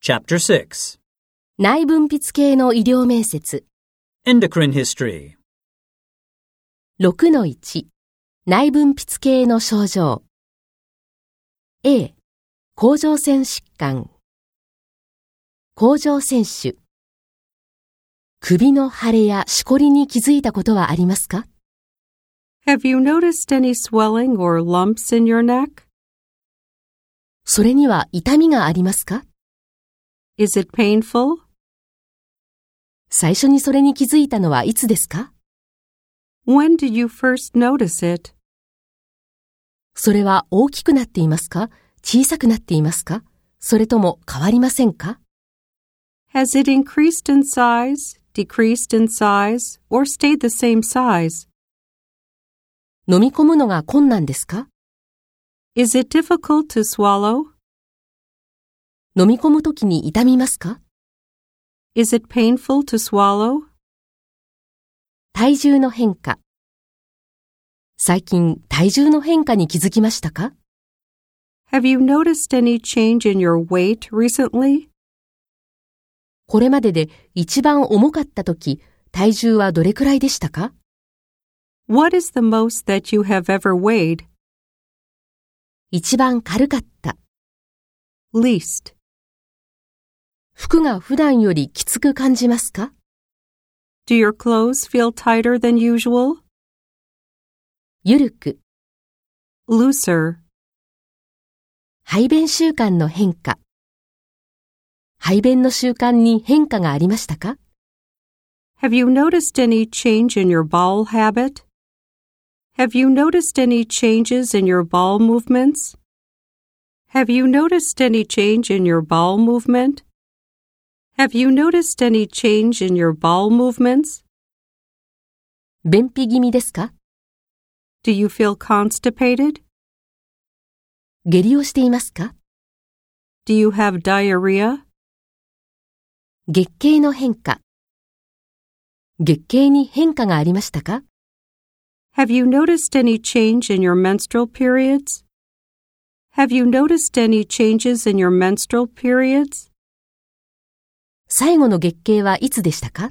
Chapter 6. 内分泌系の医療面接。 Endocrine History. 6-1 内分泌系の症状。A、甲状腺疾患。甲状腺腫。首の腫れやしこりに気づいたことはありますか？ Have you noticed any swelling or lumps in your neck? それには痛みがありますか？ Is it painful? 最初にそれに気づいたのはいつですか？ When did you first notice it? それは大きくなっていますか？小さくなっていますか？それとも変わりませんか？ Has it increased in size, decreased in size, or stayed the same size? 飲み込むのが困難ですか？ Is it difficult to swallow? 飲み込むときに痛みますか？ Is it painful to swallow? 体重の変化。最近体重の変化に気づきましたか？ Have you noticed any change in your weight recently? これまでで一番重かったとき、体重はどれくらいでしたか？ What is the most that you have ever weighed? 一番軽かった。 Least. 服が普段よりきつく感じますか？ Do your clothes feel tighter than usual? ゆるく。 Looser. 排便習慣の変化。排便の習慣に変化がありましたか？ Have you noticed any change in your bowel habit? Have you noticed any changes in your bowel movements? Have you noticed any change in your bowel movement? Have you noticed any change in your bowel movements? 便秘気味ですか？ Do you feel constipated? 下痢をしていますか？ Do you have diarrhea? 月経の変化。月経に変化がありましたか？ Have you noticed any change in your menstrual periods? Have you noticed any changes in your menstrual periods? 最後の月経はいつでしたか？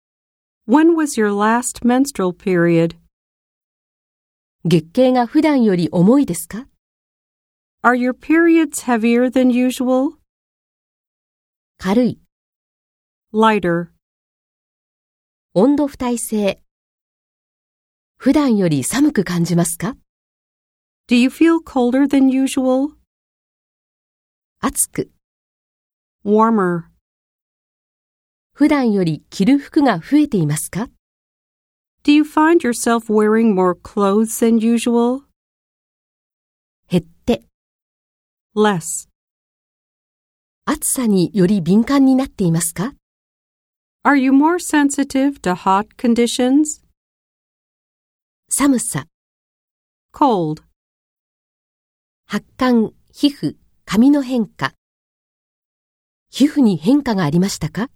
When was your last menstrual period? 月経が普段より重いですか？ Are your periods heavier than usual? 軽い。 Lighter. 温度不耐性。普段より寒く感じますか？ Do you feel colder than usual? 暑く。 Warmer. 普段より着る服が増えていますか？ Do you find yourself wearing more clothes than usual? 減って。 Less. 暑さにより敏感になっていますか？ Are you more sensitive to hot conditions? 寒さ。 Cold. 発汗、皮膚、髪の変化。皮膚に変化がありましたか？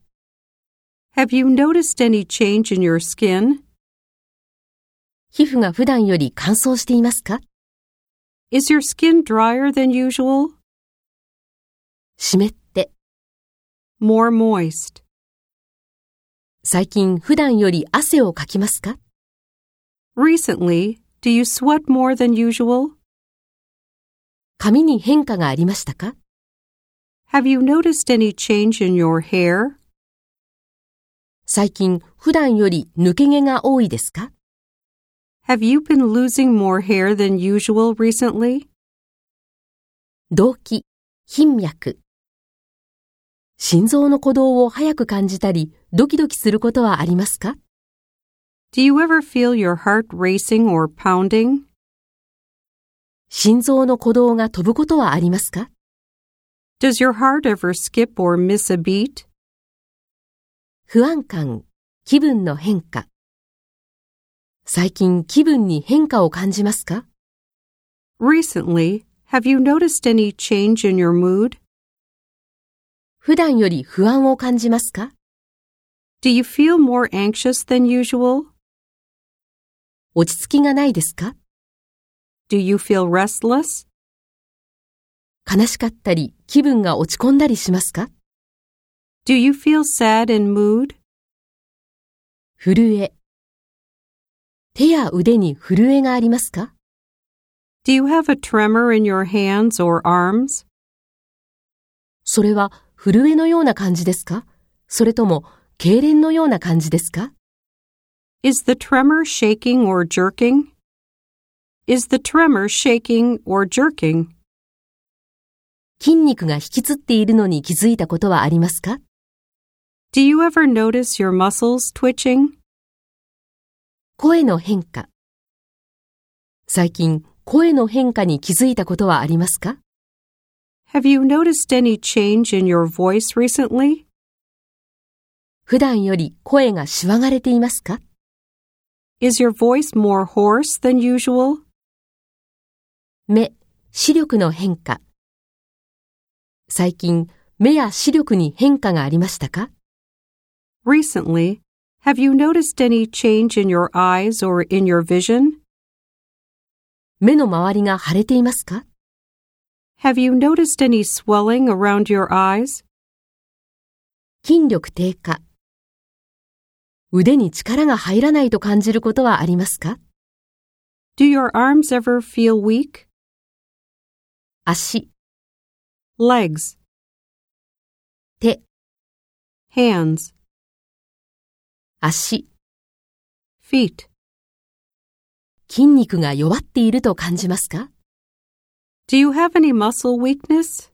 Have you noticed any change in your skin? 皮膚が普段より乾燥していますか？ Is your skin drier than usual? 湿って。 More moist. 最近普段より汗をかきますか？ Recently, do you sweat more than usual? 髪に変化がありましたか？ Have you noticed any change in your hair? 最近普段より抜け毛が多いですか？ Have you been losing more hair than usual recently? 動悸、頻脈。心臓の鼓動を早く感じたり、ドキドキすることはありますか？ Do you ever feel your heart racing or pounding? 心臓の鼓動が飛ぶことはありますか？ Does your heart ever skip or miss a beat? 不安感、気分の変化。最近気分に変化を感じますか？ Recently, have you noticed any change in your mood? 普段より不安を感じますか？ Do you feel more anxious than usual? 落ち着きがないですか？ Do you feel restless? 悲しかったり気分が落ち込んだりしますか？ Do you feel sad in mood? 震え。手や腕に震えがありますか？ Do you have a tremor in your hands or arms? それは震えのような感じですか？それとも痙攣のような感じですか？ Is the tremor shaking or jerking? Is the tremor shaking or jerking? 筋肉が引きつっているのに気づいたことはありますか？ Do you ever notice your muscles twitching? 声の変化。最近、声の変化に気づいたことはありますか？ Have you noticed any change in your voice recently? 普段より声がしわがれていますか？ Is your voice more hoarse than usual? 目、視力の変化。最近、目や視力に変化がありましたか？ Recently, have you noticed any change in your eyes or in your vision? 目の周りが腫れていますか？ Have you noticed any swelling around your eyes? 筋力低下。腕に力が入らないと感じることはありますか？ Do your arms ever feel weak? 足、 Legs, 手、 hands, 足、 feet. 筋肉が弱っていると感じますか？ Do you have any muscle weakness?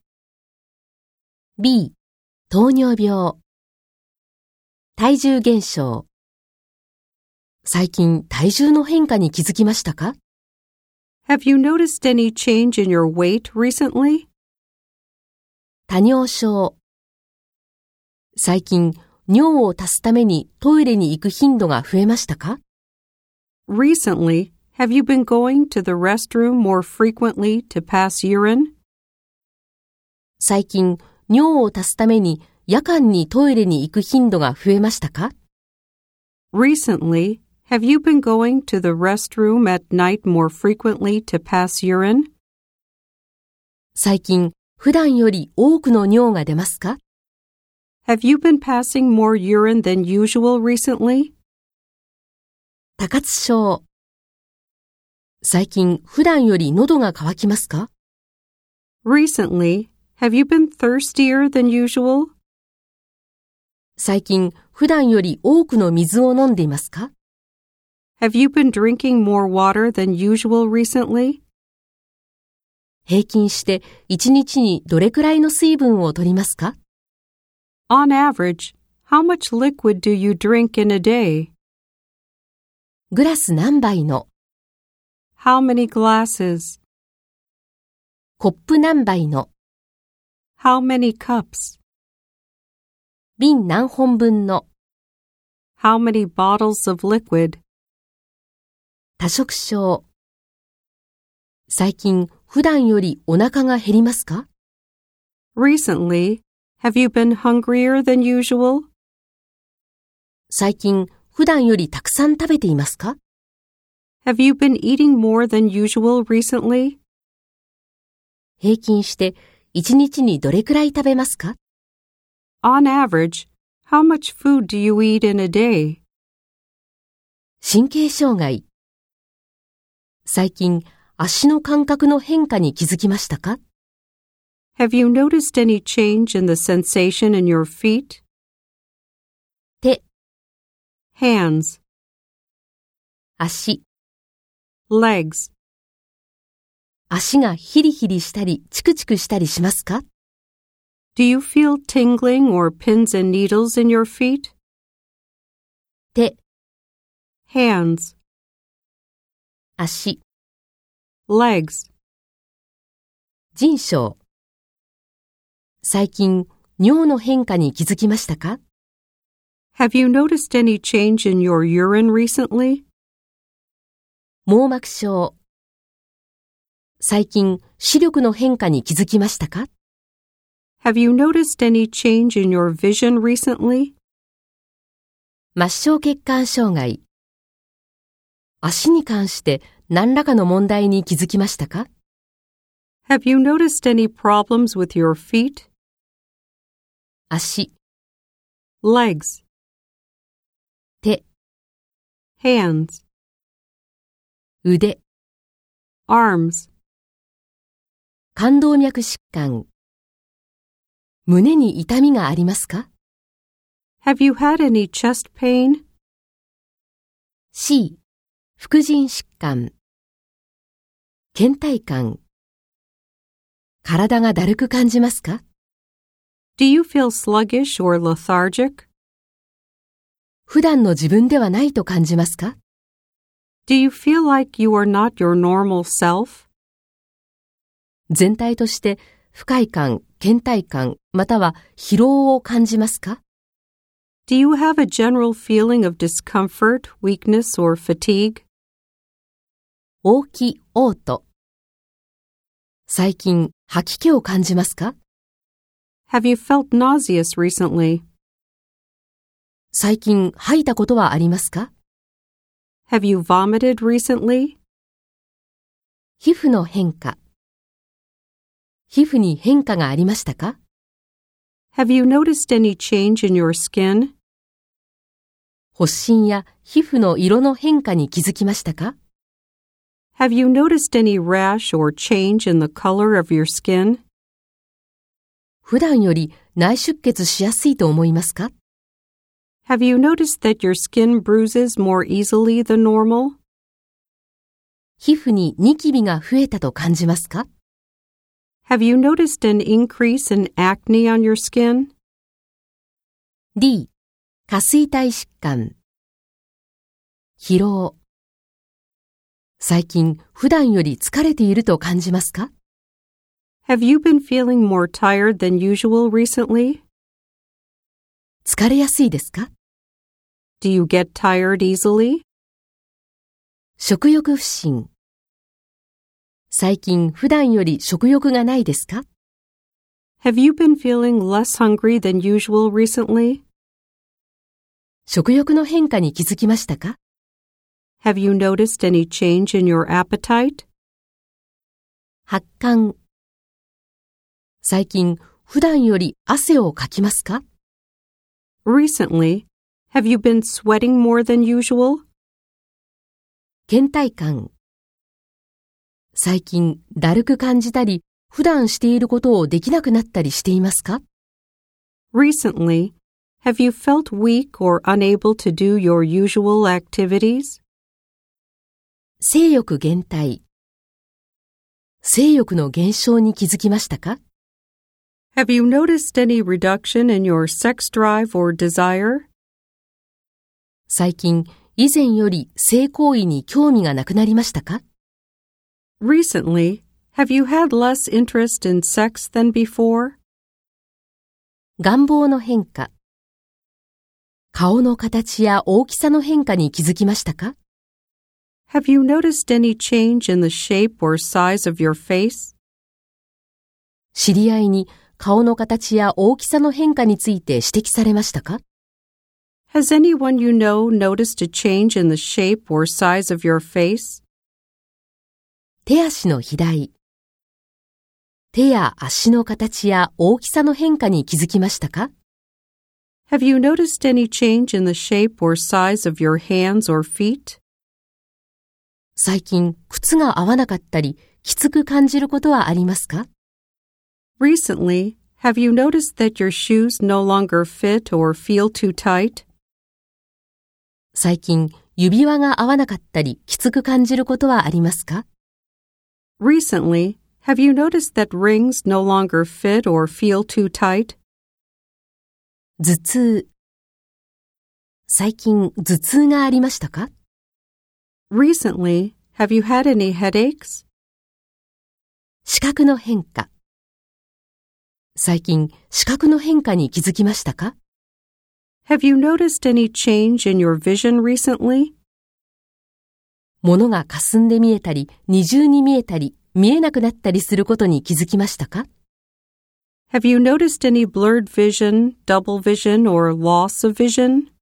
B、糖尿病。体重減少。最近体重の変化に気づきましたか？ Have you noticed any change in your weight recently? 多尿症。最近尿を足すためにトイレに行く頻度が増えましたか？ Recently, have you been going to the restroom more frequently to pass urine? 最近尿を足すために夜間にトイレに行く頻度が増えましたか？ Recently, have you been going to the restroom at night more frequently to pass urine? 最近普段より多くの尿が出ますか？ Have you been passing more urine than usual recently? 多活症。最近普段より喉が渇きますか？ Recently, have you been thirstier than usual? 最近普段より多くの水を飲んでいますか？ Have you been drinking more water than usual recently? 平均して1日にどれくらいの水分を取りますか？ On average, how much liquid do you drink in a day? グラス何杯の。 How many glasses? コップ何杯の。 How many cups? 瓶何本分の。 How many bottles of liquid? 多食症。最近普段よりお腹が減りますか？ Recently, have you been hungrier than usual? 最近普段よりたくさん食べていますか？ Have you been eating more than usual recently? 平均して1日にどれくらい食べますか？ On average, how much food do you eat in a day? 神経障害。最近足の感覚の変化に気づきましたか？ Have you noticed any change in the sensation in your feet? 手、 Hands, 足、 legs. 足がヒリヒリしたりチクチクしたりしますか？ Do you feel tingling or pins and needles in your feet? 手、 Hands, 足、 legs. 腎症。最近尿の変化に気づきましたか？ Have you noticed any change in your urine recently? 網膜症。最近視力の変化に気づきましたか？ Have you noticed any change in your vision recently? 末梢血管障害。足に関して何らかの問題に気づきましたか？ Have you noticed any problems with your feet? 足、 legs, 手、 hands, 腕、 arms, 冠動脈疾患。胸に痛みがありますか？ Have you had any chest pain? C、副腎疾患。倦怠感。体がだるく感じますか？ Do you feel sluggish or lethargic? 普段の自分ではないと感じますか？ Do you feel like you are not your normal self? 全体として不快感、倦怠感、または疲労を感じますか？ Do you have a general feeling of discomfort, weakness, or fatigue? 嘔気、嘔吐。最近、吐き気を感じますか？ Have you felt nauseous recently? 最近、吐いたことはありますか？ Have you vomited recently? 皮膚の変化。皮膚に変化がありましたか？ Have you noticed any change in your skin? 発疹や皮膚の色の変化に気づきましたか？ Have you noticed any rash or change in the color of your skin? 普段より内出血しやすいと思いますか？ Have you noticed that your skin bruises more easily than normal? 皮膚にニキビが増えたと感じますか？ Have you noticed an increase in acne on your skin? D、下垂体疾患。疲労。最近、普段より疲れていると感じますか？ Have you been feeling more tired than usual recently? 疲れやすいですか？ Do you get tired easily? 食欲不振。最近、普段より食欲がないですか？ Have you been feeling less hungry than usual recently? 食欲の変化に気づきましたか？ Have you noticed any change in your appetite? 発汗。最近、普段より汗をかきますか？ Recently, have you been sweating more than usual? 倦怠感。最近、だるく感じたり、普段していることをできなくなったりしていますか？ Recently, have you felt weak or unable to do your usual activities? 性欲減退。性欲の減少に気づきましたか？ Have you noticed any reduction in your sex drive or desire? 最近、以前より性行為に興味がなくなりましたか？ Recently, have you had less interest in sex than before? 願望の変化。顔の形や大きさの変化に気づきましたか？ Have you noticed any change in the shape or size of your face? 知り合いに顔の形や大きさの変化について指摘されましたか？ Has anyone you know noticed a change in the shape or size of your face? 手足の肥大。手や足の形や大きさの変化に気づきましたか？ Have you noticed any change in the shape or size of your hands or feet? 最近、靴が合わなかったり、きつく感じることはありますか？ Recently, have you noticed that your shoes no longer fit or feel too tight? 最近、指輪が合わなかったり、きつく感じることはありますか？ Recently, have you noticed that rings no longer fit or feel too tight? 頭痛。最近、頭痛がありましたか？ Recently, have you had any headaches? 視覚の変化。最近、視覚の変化に気づきましたか？ Have you noticed any change in your vision recently? 物が霞んで見えたり、二重に見えたり、見えなくなったりすることに気づきましたか？ Have you noticed any blurred vision, double vision, or loss of vision?